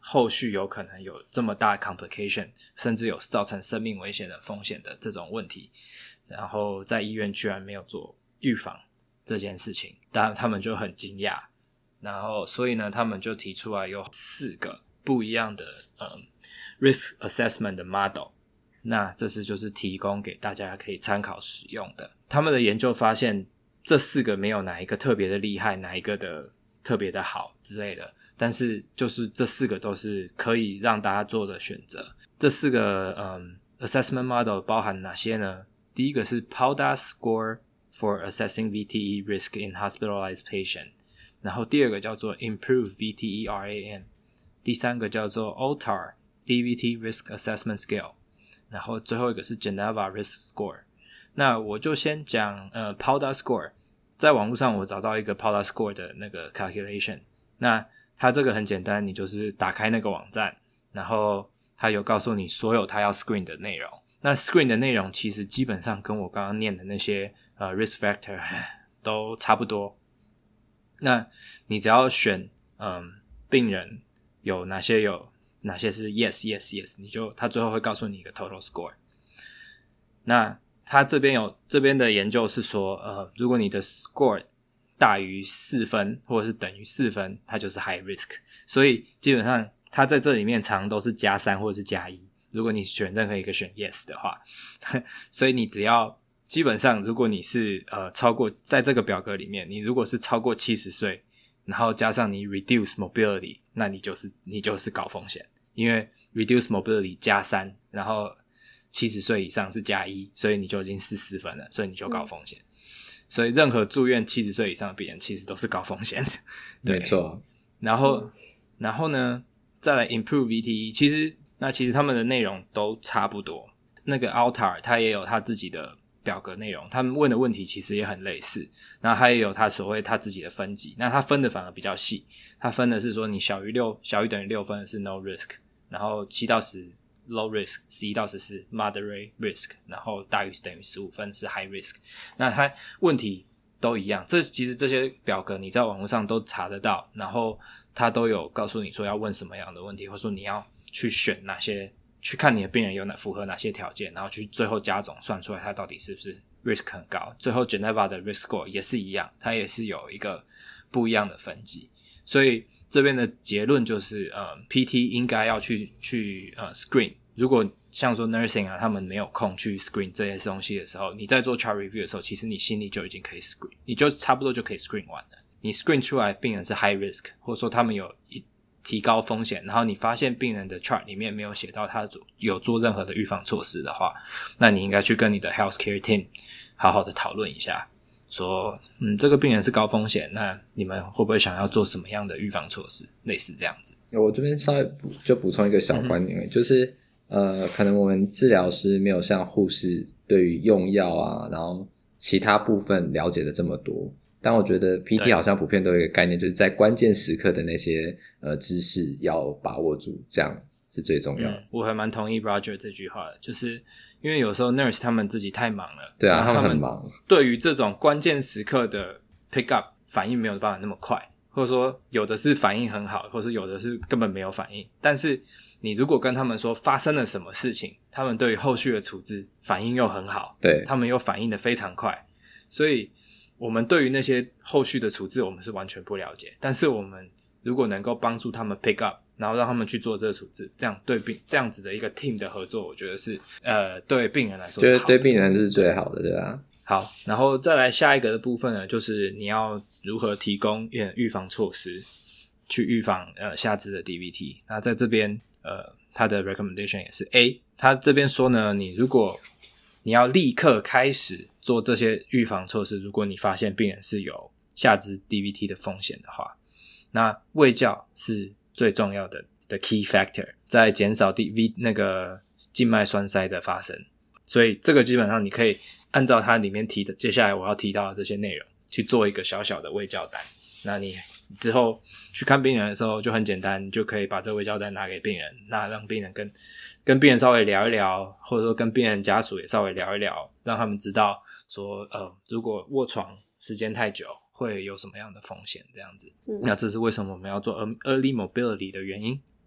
后续有可能有这么大的 complication， 甚至有造成生命危险的风险的这种问题，然后在医院居然没有做预防这件事情，当然他们就很惊讶，然后所以呢他们就提出来有四个不一样的、嗯、risk assessment 的 model， 那这是就是提供给大家可以参考使用的。他们的研究发现这四个没有哪一个特别的厉害，哪一个的特别的好之类的，但是就是这四个都是可以让大家做的选择。这四个、嗯、assessment model 包含哪些呢？第一个是 P O D A score for assessing V T E risk in hospitalized patient， 然后第二个叫做 Improve V T E R A M， 第三个叫做 O T A R D V T Risk Assessment Scale， 然后最后一个是 Geneva Risk Score。 那我就先讲呃 P O D A score， 在网络上我找到一个 P O D A score 的那个 calculation， 那它这个很简单，你就是打开那个网站，然后它有告诉你所有它要 screen 的内容。那 screen 的内容其实基本上跟我刚刚念的那些呃 risk factor 都差不多。那你只要选嗯病人有哪些有哪些是 yes yes yes， 你就他最后会告诉你一个 total score。那他这边有这边的研究是说呃如果你的 score 大于四分或者是等于四分，它就是 high risk， 所以基本上它在这里面常都是加三或者是加一，如果你选任何一个选 yes 的话所以你只要基本上如果你是呃超过在这个表格里面，你如果是超过七十岁，然后加上你 reduce mobility， 那你就是你就是高风险，因为 reduce mobility 加三，然后七十岁以上是加一，所以你就已经是四分了，所以你就高风险、嗯、所以任何住院七十岁以上的病人其实都是高风险没错。 然后然后呢再来 improve V T E， 其实那其实他们的内容都差不多，那个 O T A R 他也有他自己的表格内容，他们问的问题其实也很类似，然后他也有他所谓他自己的分级，那他分的反而比较细，他分的是说你小于六小于等于六分的是 no risk， 然后七到十 low risk， 十一到十四 moderate risk， 然后大于等于十五分是 high risk。 那他问题都一样，这其实这些表格你在网络上都查得到，然后他都有告诉你说要问什么样的问题，或者说你要去选哪些，去看你的病人有哪符合哪些条件，然后去最后加总算出来他到底是不是 risk 很高。最后 Geneva 的 risk score 也是一样，它也是有一个不一样的分级，所以这边的结论就是呃 P T 应该要去去呃 screen。 如果像说 nursing 啊他们没有空去 screen 这些东西的时候，你在做 chart review 的时候，其实你心里就已经可以 screen， 你就差不多就可以 screen 完了。你 screen 出来病人是 high risk， 或者说他们有一提高风险，然后你发现病人的 chart 里面没有写到他有做任何的预防措施的话，那你应该去跟你的 healthcare team 好好的讨论一下，说嗯这个病人是高风险，那你们会不会想要做什么样的预防措施，类似这样子。 我这边稍微就补充一个小观点、嗯、就是呃可能我们治疗师没有像护士对于用药啊然后其他部分了解的这么多，但我觉得 P T 好像普遍都有一个概念，就是在关键时刻的那些呃知识要把握住，这样是最重要的、嗯、 我还蛮同意 Roger 这句话的，就是因为有时候 nurse 他们自己太忙了， 对啊， 他们很忙， 对于这种关键时刻的 pick up 反应没有办法那么快，或者说有的是反应很好，或者是有的是根本没有反应，但是你如果跟他们说发生了什么事情，他们对于后续的处置反应又很好， 对， 他们又反应得非常快，所以我们对于那些后续的处置我们是完全不了解，但是我们如果能够帮助他们 pick up， 然后让他们去做这个处置，这样对病这样子的一个 team 的合作，我觉得是呃对病人来说是好的， 觉得对病人是最好的，对吧？ 好，然后再来下一个的部分呢，就是你要如何提供预防措施去预防呃下肢的 D V T。 那在这边呃他的 recommendation 也是 A， 他这边说呢，你如果你要立刻开始做这些预防措施，如果你发现病人是有下肢 D V T 的风险的话，那卫教是最重要的的 key factor， 在减少 D V 那个静脉栓塞的发生。所以这个基本上你可以按照它里面提的接下来我要提到的这些内容去做一个小小的卫教单，那你之后去看病人的时候就很简单，你就可以把这个卫教单拿给病人，那让病人跟跟病人稍微聊一聊，或者说跟病人家属也稍微聊一聊，让他们知道说呃，如果卧床时间太久会有什么样的风险这样子、嗯、那这是为什么我们要做 early mobility 的原因。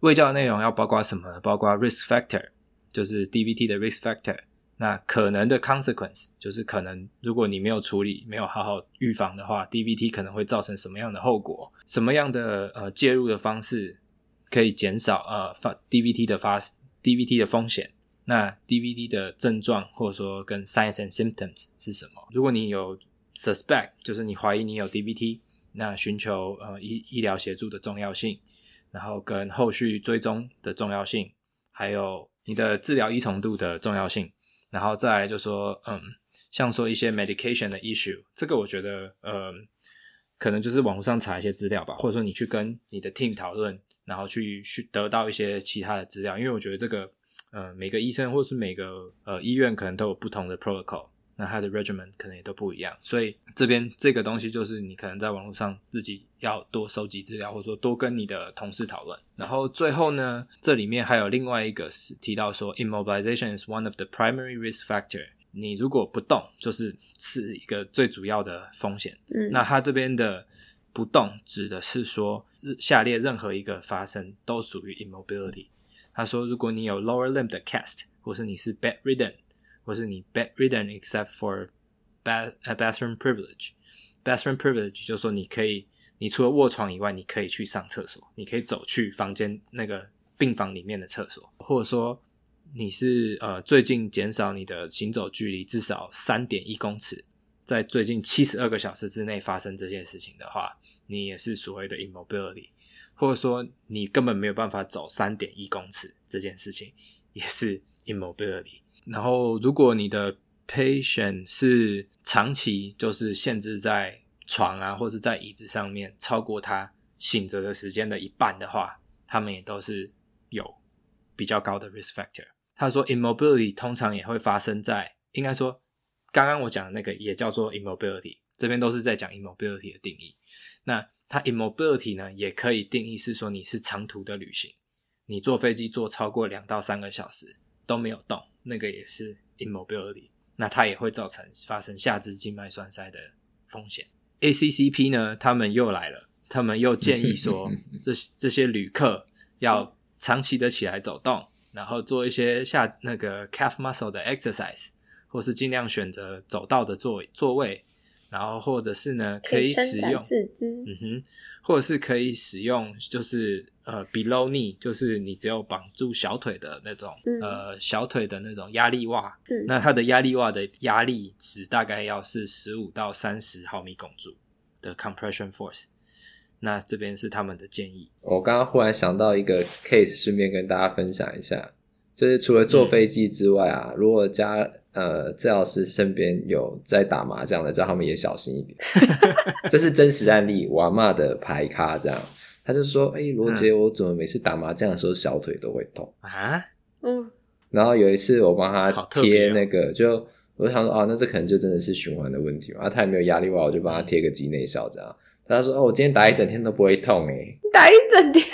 卫教的内容要包括什么呢？包括 risk factor， 就是 D V T 的 risk factor。那可能的 consequence 就是可能如果你没有处理，没有好好预防的话， D V T 可能会造成什么样的后果，什么样的呃介入的方式可以减少呃 D V T 的发 D V T 的风险。那 D V T 的症状或者说跟 signs and symptoms 是什么？如果你有 suspect， 就是你怀疑你有 D V T， 那寻求呃医医疗协助的重要性，然后跟后续追踪的重要性，还有你的治疗依从度的重要性。然后再来就说嗯，像说一些 medication 的 issue， 这个我觉得呃，可能就是网络上查一些资料吧，或者说你去跟你的 team 讨论，然后去去得到一些其他的资料，因为我觉得这个呃每个医生或是每个呃医院可能都有不同的 protocol， 那它的 regimen 可能也都不一样，所以这边这个东西就是你可能在网络上自己要多收集资料，或者说多跟你的同事讨论。然后最后呢，这里面还有另外一个是提到说 immobilization is one of the primary risk factor， 你如果不动就是是一个最主要的风险。嗯，那它这边的不动指的是说下列任何一个发生都属于 immobility。他说如果你有 lower limb 的 cast， 或是你是 bedridden， 或是你 bedridden except for bath, uh, bathroom privilege bathroom privilege 就是说你可以你除了卧床以外你可以去上厕所，你可以走去房间那个病房里面的厕所，或者说你是呃最近减少你的行走距离至少 三点一公尺，在最近七十二个小时之内发生这件事情的话，你也是所谓的 immobility， 或者说你根本没有办法走 三点一公尺，这件事情也是 immobility。 然后如果你的 patient 是长期就是限制在床啊或是在椅子上面超过他醒着的时间的一半的话，他们也都是有比较高的 risk factor。 他说 immobility 通常也会发生在，应该说刚刚我讲的那个也叫做 immobility， 这边都是在讲 immobility 的定义。那它 immobility 呢也可以定义是说你是长途的旅行，你坐飞机坐超过两到三个小时都没有动，那个也是 immobility， 那它也会造成发生下肢静脉栓塞的风险。 A C C P 呢他们又来了，他们又建议说这这些旅客要长期的起来走动，然后做一些下那个 calf muscle 的 exercise， 或是尽量选择走道的座座位，然后或者是呢可以使用四肢， 嗯哼，或者是可以使用就是呃 below knee， 就是你只有绑住小腿的那种、嗯、呃小腿的那种压力袜、嗯、那它的压力袜的压力值大概要是十五到三十毫米汞柱的 compression force， 那这边是他们的建议。 我刚刚忽然想到一个 case， 顺便跟大家分享一下，就是除了坐飞机之外啊、嗯、如果家呃治疗师身边有在打麻将的，叫他们也小心一点这是真实案例，我阿嬷的牌咖这样，他就说诶罗杰、嗯、我怎么每次打麻将的时候小腿都会痛啊？ 嗯， 然后有一次我帮他贴那个、 哦、 就我就想说哦，那这可能就真的是循环的问题嘛，啊他也没有压力袜，我就帮他贴个肌内效这样，他说哦我今天打一整天都不会痛诶， 打一整天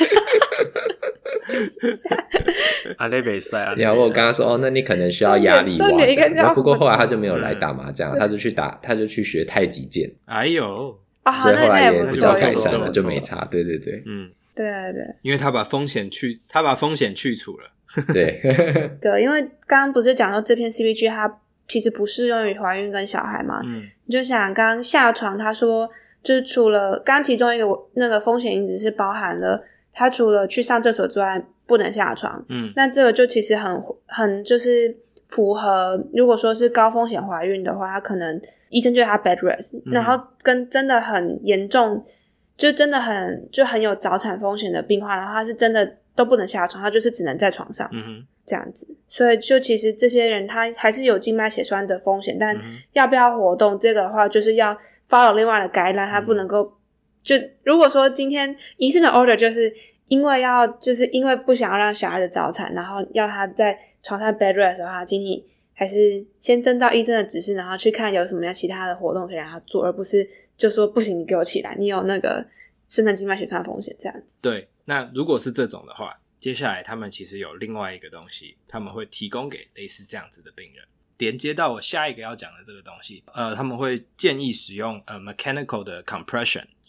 啊那没事啊， 然后我跟他说哦那你可能需要压力袜，不过后来他就没有来打麻将、嗯、他就去打他就去学太极剑， 哎呦啊， 所以后来也比较改善了，就没差。对对对， 嗯， 对对对， 因为他把风险去，他把风险去除了。 对对，因为刚刚不是讲到这篇 C P G 它其实不适用于怀孕跟小孩嘛， 嗯， 你就想刚刚下床，他说就是除了刚刚其中一个那个风险因子是包含了他除了去上厕所之外不能下床， 嗯， 那这个就其实很很就是符合，如果说是高风险怀孕的话，他可能医生就他 bed rest、嗯、然后跟真的很严重就真的很就很有早产风险的病患，然后他是真的都不能下床，他就是只能在床上、 嗯、哼这样子，所以就其实这些人他还是有静脉血栓的风险，但要不要活动这个的话就是要 follow 另外的 guideline， 他不能够、嗯、就如果说今天医生的 order 就是因为要就是因为不想要让小孩子早产，然后要他在床上 bed rest 的话，请你还是先遵照医生的指示，然后去看有什么样其他的活动可以让他做，而不是就说不行你给我起来，你有那个深层静脉血栓风险这样子。 对，那如果是这种的话，接下来他们其实有另外一个东西他们会提供给类似这样子的病人，连接到我下一个要讲的这个东西，呃，他们会建议使用呃 mechanical 的 compression，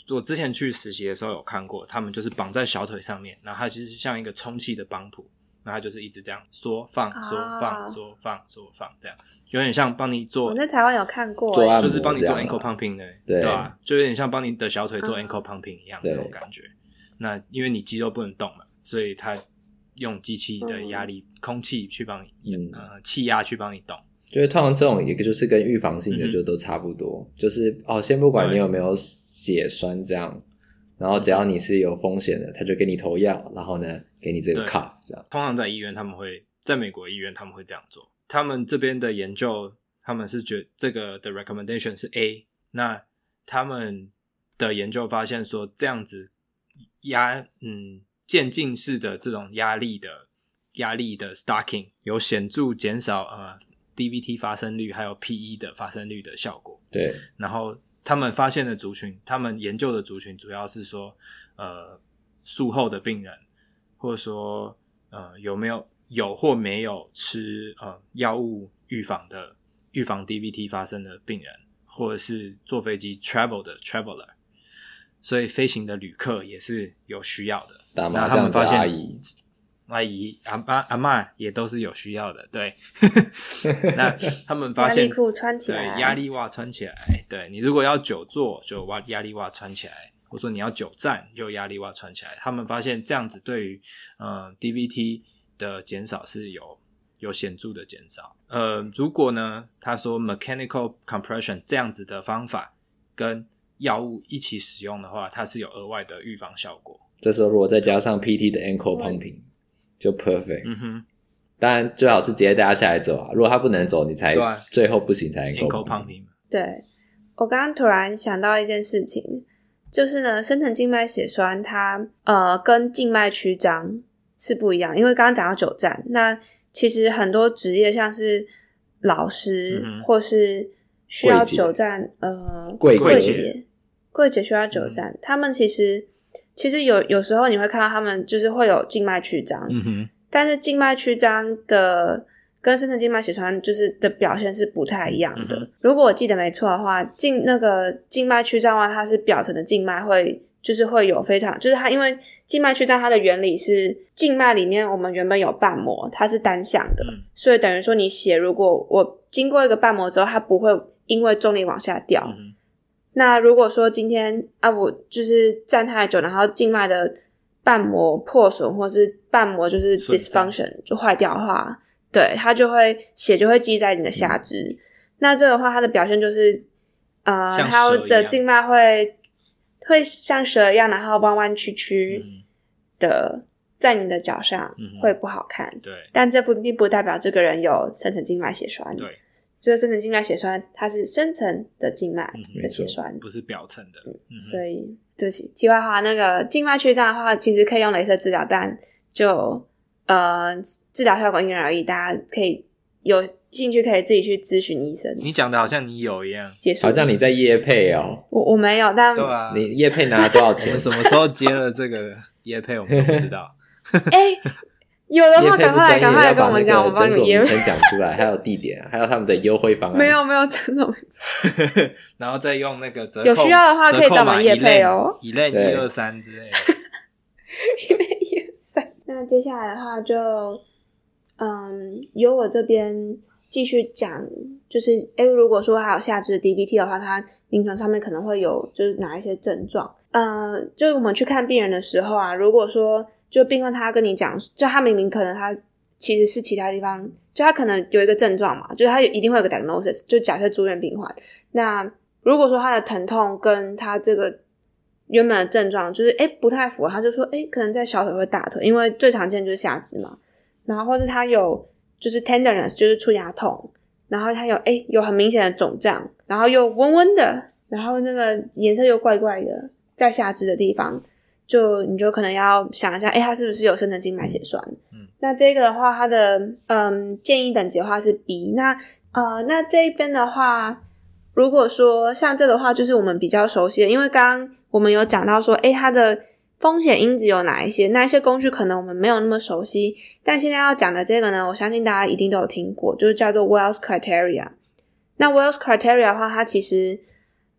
我之前去实习的时候有看过，他们就是绑在小腿上面，然后它其实像一个充气的帮浦，然后它就是一直这样缩放缩放缩放缩放这样，有点像帮你做。 我在台湾有看过， 做按摩就是帮你做 ankle pumping 的， 对对吧？就有点像帮你的小腿做嗯 ankle pumping 一样的那种感觉。那因为你肌肉不能动嘛，所以它用机器的压力、嗯、空气去帮你，嗯、呃，气压去帮你动。 就是通常这种也就是跟预防性的就都差不多，嗯、就是哦，先不管你有没有血栓这样，然后只要你是有风险的，他就给你投药，然后呢给你这个 cuff 这样。 通常在医院他们会，在美国医院他们会这样做。他们这边的研究，他们是觉得这个的 recommendation 是 A， 那他们的研究发现说这样子压嗯渐进式的这种压力的压力的 stocking 有显著减少呃。D V T 发生率还有 P E 的发生率的效果。 对， 然后他们发现的族群，他们研究的族群主要是说，呃，术后的病人，或者说呃有没有有或没有吃呃药物预防的预防 D V T 发生的病人，或者是坐飞机 travel 的 traveler， 所以飞行的旅客也是有需要的。 打麻将的阿姨。 阿姨、阿妈、阿嬷也都是有需要的，对。那他们发现， 压力裤穿起来， 对，压力袜穿起来，对你如果要久坐，就袜压力袜穿起来，或者说你要久站，就压力袜穿起来。他们发现这样子对于呃 D V T 的减少是有有显著的减少。呃，如果呢，他说 mechanical compression 这样子的方法跟药物一起使用的话，它是有额外的预防效果。 这时候如果再加上 P T 的 ankle pumping。就 perfect， 嗯哼， 当然最好是直接带他下来走啊。如果他不能走，你才最后不行才 ankle pumping。 对，我刚刚突然想到一件事情，就是呢，深层静脉血栓它呃跟静脉曲张是不一样，因为刚刚讲到久站，那其实很多职业像是老师、嗯、或是需要久站，呃， 柜姐，柜姐需要久站、嗯，他们其实。其实有有时候你会看到他们就是会有静脉曲张， 嗯哼， 但是静脉曲张的跟深层静脉血栓就是的表现是不太一样的。嗯、如果我记得没错的话，静那个静脉曲张的话，它是表层的静脉会就是会有非常就是它因为静脉曲张它的原理是静脉里面我们原本有瓣膜，它是单向的，嗯、所以等于说你血如果我经过一个瓣膜之后，它不会因为重力往下掉。嗯那如果说今天啊，我就是站太久，然后静脉的瓣膜破损，或是瓣膜就是 dysfunction 就坏掉的话，对，它就会血就会积在你的下肢。嗯、那这个话，它的表现就是呃，它的静脉会会像蛇一样，然后弯弯曲曲的在你的脚上，嗯、会不好看。 对， 但这不并不代表这个人有深层静脉血栓。 对。 这个深层静脉血栓它是深层的静脉的血栓、 嗯、不是表层的、 嗯、所以对不起题外话，那个静脉曲张的话其实可以用雷射治疗，但就呃治疗效果因人而异，大家可以有兴趣可以自己去咨询医生。 你讲的好像你有一样， 好像你在业配哦。 我我没有，但对啊， 你业配拿了多少钱？ 我们什么时候接了这个业配我们都不知道。 哎有的话赶快来赶快来跟我们讲，我帮你业配诊所名称讲出来，还有地点，还有他们的优惠方案。 没有没有诊所名称然后再用那个折扣， 有需要的话可以找我们业配哦， 一类一二三之类的。 一类一二三。那接下来的话就嗯由我这边继续讲，就是诶如果说还有下肢的 D V T 的话，它临床上面可能会有就是哪一些症状。呃就是我们去看病人的时候啊，如果说就病患他跟你讲，就他明明可能他其实是其他地方，就他可能有一个症状嘛，就是他一定会有个 diagnosis， 就假设住院病患，那如果说他的疼痛跟他这个原本的症状就是诶不太符合，他就说诶可能在小腿或大腿，因为最常见就是下肢嘛，然后或是他有就是 tenderness 就是触牙痛，然后他有诶有很明显的肿胀，然后又温温的，然后那个颜色又怪怪的，在下肢的地方就你就可能要想一下诶他是不是有深层静脉血栓。嗯，那这个的话它的嗯建议等级的话是 B。 那呃那这一边的话，如果说像这个的话就是我们比较熟悉的，因为刚刚我们有讲到说诶它的风险因子有哪一些，那一些工具可能我们没有那么熟悉，但现在要讲的这个呢，我相信大家一定都有听过，就是叫做 Wells Criteria。 那 Wells Criteria 的话，它其实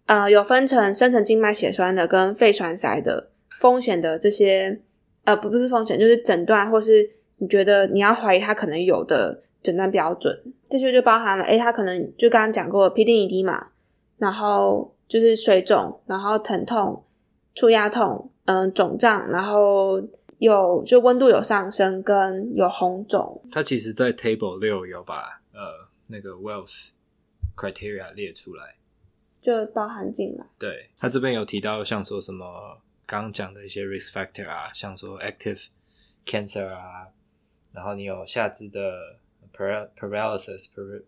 呃有分成深层静脉血栓的跟肺栓塞的风险的这些呃不不是风险，就是诊断或是你觉得你要怀疑它可能有的诊断标准。这些就包含了诶它可能就刚刚讲过吡啶移滴嘛，然后就是水肿，然后疼痛、触压痛、嗯肿胀，然后有就温度有上升跟有红肿。 它其实在 Table 六有把呃那个 Wells criteria 列出来， 就包含进来。 对，他这边有提到像说什么刚刚讲的一些 risk factor 啊，像说 active cancer 啊，然后你有下肢的 paralysis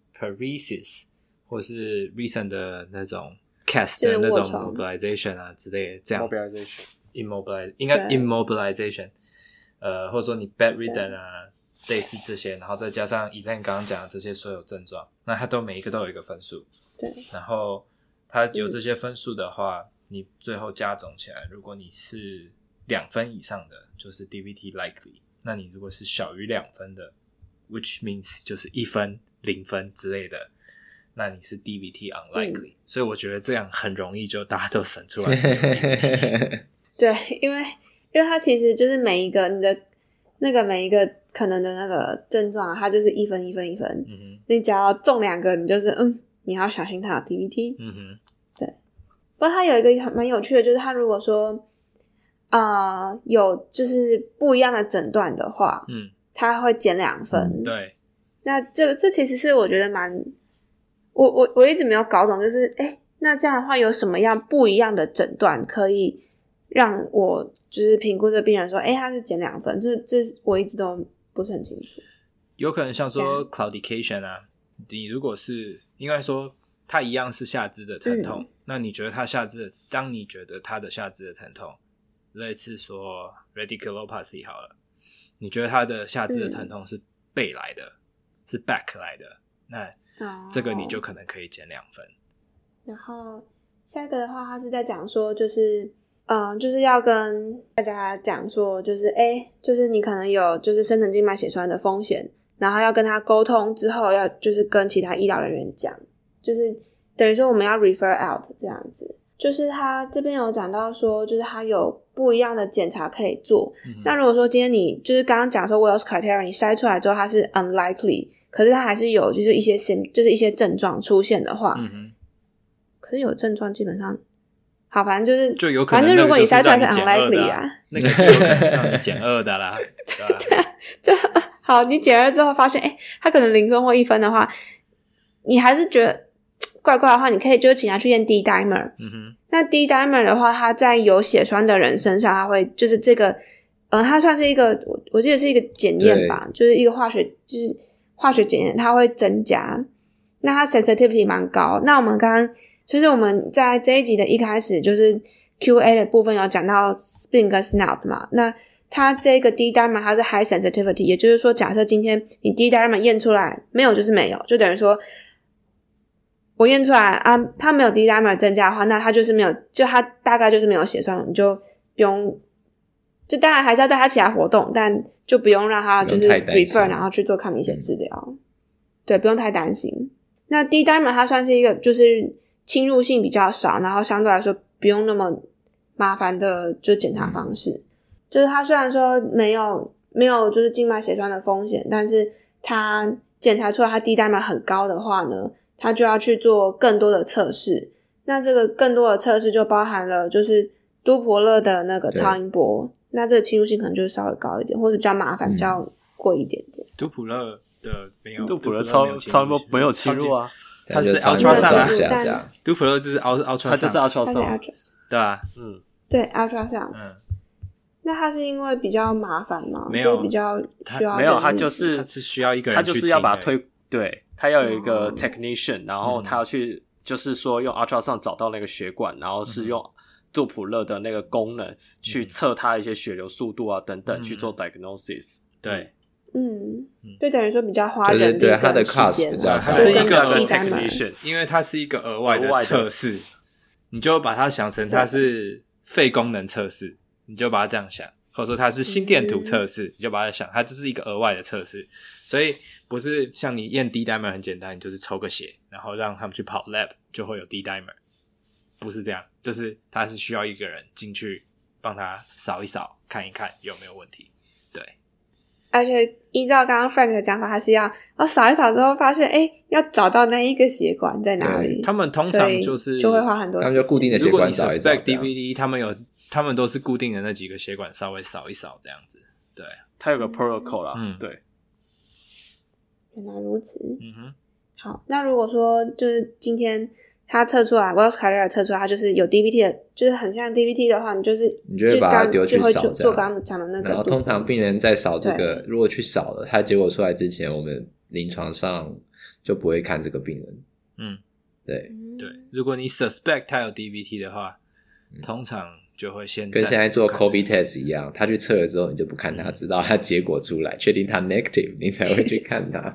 paresis 或是 recent 的那种 cast 的那种 mobilization 啊之类的，这样 mobilization immobilize 应该 immobilization 呃或者说你 bedridden 啊类似这些，然后再加上 Elaine 刚刚讲的这些所有症状，那它都每一个都有一个分数。 对， 然后它有这些分数的话、嗯、你最后加总起来，如果你是两分以上的就是 D V T likely， 那你如果是小于两分的 which means 就是一分零分之类的，那你是 D V T unlikely、嗯、所以我觉得这样很容易就大家都省出来是 D V T 对，因为因为它其实就是每一个你的那个每一个可能的那个症状、啊、它就是一分一分一分、嗯、哼你只要中两个你就是嗯你要小心它有 D V T。 嗯哼， 对。不过它有一个蛮有趣的，就是它如果说呃有就是不一样的诊断的话，嗯，它会减两分、 嗯、对。 那这这其实是我觉得蛮我我我一直没有搞懂，就是诶那这样的话有什么样不一样的诊断可以让我就是评估这个病人说诶他是减两分，这这我一直都不是很清楚。 有可能像说 claudication 啊，你如果是应该说他一样是下肢的疼痛、嗯、那你觉得他下肢当你觉得他的下肢的疼痛类似说 radiculopathy 好了，你觉得他的下肢的疼痛是背来的、嗯、是 back 来的，那这个你就可能可以减两分。 然后下一个的话他是在讲说就是嗯，就是要跟大家讲说就是诶就是你可能有就是深层静脉血栓的风险，然后要跟他沟通之后要就是跟其他医疗人员讲，就是等于说我们要 refer out 这样子。就是他这边有讲到说就是他有不一样的检查可以做、嗯、那如果说今天你就是刚刚讲说 Wells criteria 你筛出来之后它是 unlikely， 可是它还是有就是一些就是一些症状出现的话、嗯、哼可是有症状基本上好反正就是就有可能反正如果你筛出来是 unlikely 啊， 那个就有可能是让你减二的啦对吧、啊、 就好你减二之后发现诶他可能零分或一分的话，你还是觉得怪怪的话，你可以就请他去验 D-dimer、嗯、哼那 D-dimer 的话它在有血栓的人身上它会就是这个呃，它算是一个我我记得是一个检验吧，就是一个化学就是化学检验，它会增加，那它 sensitivity 蛮高。那我们刚刚就是我们在这一集的一开始就是 Q A 的部分有讲到 spin 跟 snap 嘛，那它这个 D-dimer 它是 high sensitivity， 也就是说假设今天你 D-dimer 验出来没有就是没有，就等于说我验出来啊，它没有 D-dimer 增加的话，那它就是没有，就它大概就是没有血栓，你就不用，就当然还是要带它起来活动，但就不用让它就是 refer 然后去做抗凝血治疗、嗯、对，不用太担心。那 D-dimer 它算是一个就是侵入性比较少，然后相对来说不用那么麻烦的就检查方式、嗯、就是它虽然说没有没有就是静脉血栓的风险，但是它检查出来它 D-dimer 很高的话呢，他就要去做更多的测试，那这个更多的测试就包含了就是都普勒的那个超音波，那这个侵入性可能就稍微高一点，或者比较麻烦、嗯、比较贵一点点。 都普勒的没有， 都普勒超超音波没有侵入啊， 它是 ultrasound 这样， 都普勒就是 ultrasound， 它就是 ultrasound， 对吧？ 嗯， 对 ultrasound， 嗯。那它是因为比较麻烦吗？ 没有， 比较需要没有，它就是它是需要一个人去， 它就是要把它推对。他要有一个 technician、嗯、然后他要去就是说用 ultrasound 找到那个血管，然后是用杜普勒的那个功能去测他一些血流速度啊等等、嗯、去做 diagnosis。 对， 嗯，就等于说比较花人力跟时间，对对对，他的 cost 比较高， 它是一个 technician， 因为它是一个额外的测试，你就把它想成它是肺功能测试，你就把它这样想，或者说它是心电图测试、嗯、你就把它想它这是一个额外的测试，所以不是像你验 D-dimer 很简单，你就是抽个血然后让他们去跑 lab 就会有 D-dimer。 不是这样，就是他是需要一个人进去帮他扫一扫，看一看有没有问题。对， 而且依照刚刚 Frank 的讲法，他是要哦扫一扫之后发现，哎，要找到那一个血管在哪里。 他们通常就是就会花很多时间， 他们就固定的血管扫一扫。 如果你 suspect D V D， 他们有他们都是固定的那几个血管稍微扫一扫这样子。对， 它有个 protocol 啦。 嗯， 对。 原来如此。 嗯哼。 好，那如果说就是今天他测出来 Wells Carrier 测出来他就是有 D V T 的，就是很像 D V T 的话，你就是你就会把它丢去扫， 就做刚刚讲的那个。 然后通常病人在扫这个，如果去扫了，他结果出来之前，我们临床上就不会看这个病人。 嗯， 对对，如果你 suspect 他有 D V T 的话，嗯、通常就会先跟现在做 COVID test 一样，他去测了之后，你就不看他，直到他结果出来，确定他 negative， 你才会去看他。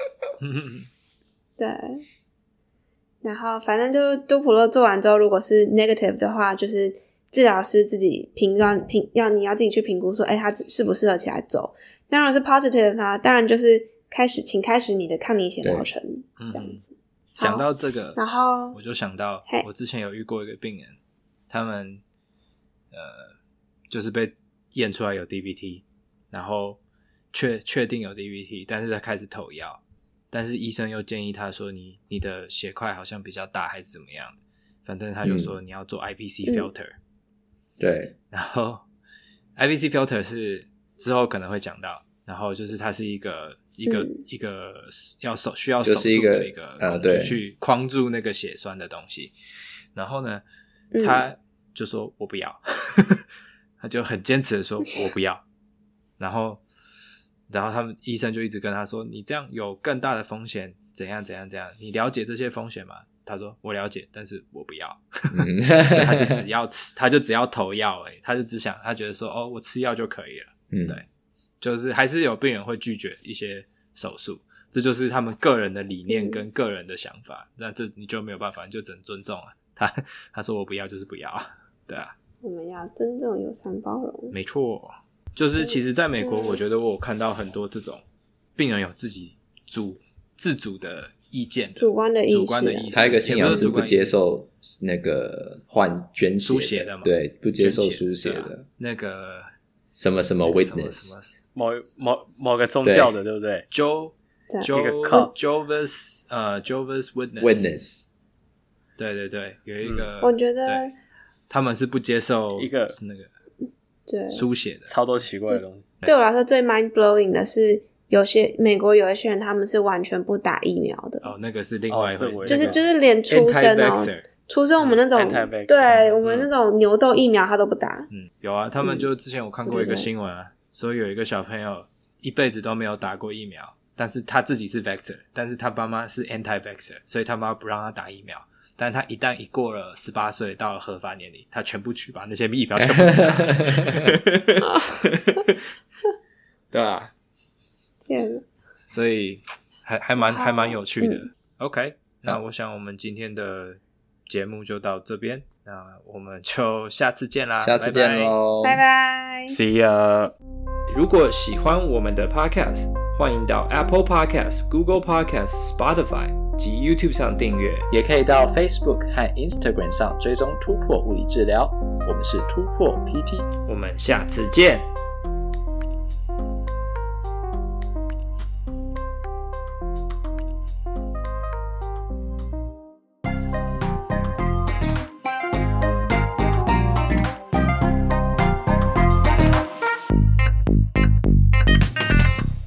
对，然后反正就多普勒做完之后，如果是 negative 的话，就是治疗师自己评让评要你要自己去评估说，哎，他适不适合起来走。那如果是 positive 的话，当然就是开始，请开始你的抗凝血疗程，这样子。 讲到这个， 然后我就想到，我之前有遇过一个病人，他们呃就是被验出来有 D V T， 然后确确定有 D V T， 但是他开始投药。但是医生又建议他说你你的血块好像比较大还是怎么样的，反正他就说你要做 I V C filter、嗯、 对， 然后 I V C filter 是之后可能会讲到，然后就是它是一个一个、嗯、一个要手需要手术的一个工具去框住那个血栓的东西，然后呢他就说我不要他就很坚持的说我不要，然后然后他们医生就一直跟他说你这样有更大的风险怎样怎样怎样，你了解这些风险吗？他说我了解，但是我不要所以他就只要吃他就只要投药而已，他就只想他觉得说哦我吃药就可以了、嗯、对，就是还是有病人会拒绝一些手术，这就是他们个人的理念跟个人的想法、嗯、那这你就没有办法，你就只能尊重啊，他他说我不要就是不要，对啊， 我们要尊重友善包容， 没错，就是其实在美国我觉得我有看到很多这种病人有自己主自主的意见的主观的意识， 主观的意识， 他一个信仰是不接受那个换捐血输血的嘛， 对，不接受输血的、啊、 那个什么什么 witness， 某某某个宗教的， 对, 对不对 ？Jo Jo Jehovah's 呃 Jehovah's Witness Witness， 对对对，有一个、 嗯、我觉得他们是不接受一个那个对输血的， 超多奇怪的东西。 对我来说最 mind blowing 的是，有些美国有一些人他们是完全不打疫苗的。 哦，那个是另外一回事、 哦， 就是就是连出生哦，出生我们那种、嗯、对、嗯、我们那种牛痘疫苗他都不打。 嗯，有啊，他们就之前我看过一个新闻啊，说有一个小朋友一辈子都没有打过疫苗，但是他自己是 vaxxer， 但是他爸妈是 anti-vaxxer， 所以他妈不让他打疫苗。但他一旦一过了十八岁到了合法年龄，他全部去把那些疫苗全部打对啊，所以还还蛮还蛮有趣的、嗯、OK， 那我想我们今天的节目就到这边，那我们就下次见啦， 下次见咯， 拜拜 See ya。 如果喜欢我们的 Podcast， 欢迎到 Apple Podcast、Google Podcast、Spotify 及 YouTube 上订阅， 也可以到 Facebook 和 Instagram 上追踪突破物理治疗，我们是突破 P T， 我们下次见。